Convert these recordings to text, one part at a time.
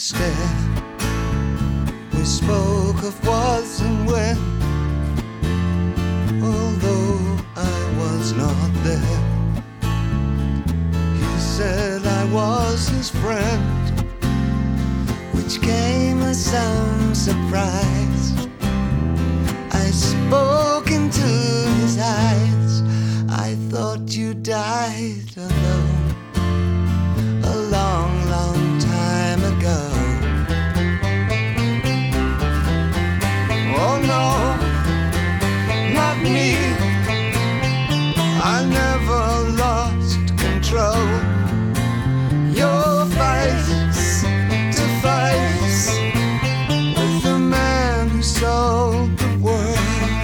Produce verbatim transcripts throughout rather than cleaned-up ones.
stare. We spoke of was and when, although I was not there. He said I was his friend, which came as some surprise. I spoke into his eyes. I thought you died alone a long, long time ago. Oh no, not me. I never lost control. Your face to face with the man who sold the world.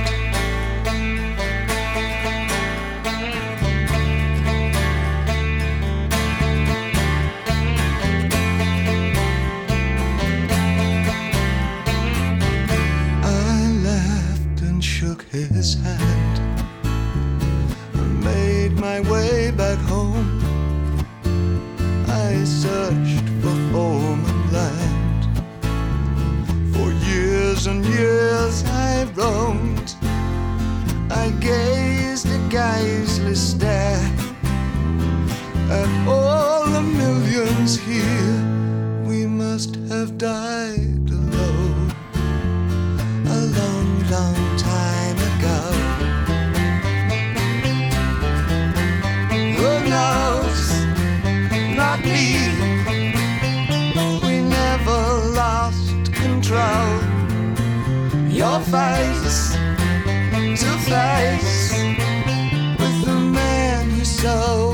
His hand and made my way back home. I searched for home and land. For years and years I roamed. I gazed a geyserly stare at all the millions here. We must have died alone a long, long time ago. Who knows? Not me. We never lost control. Your face to face with the man who sold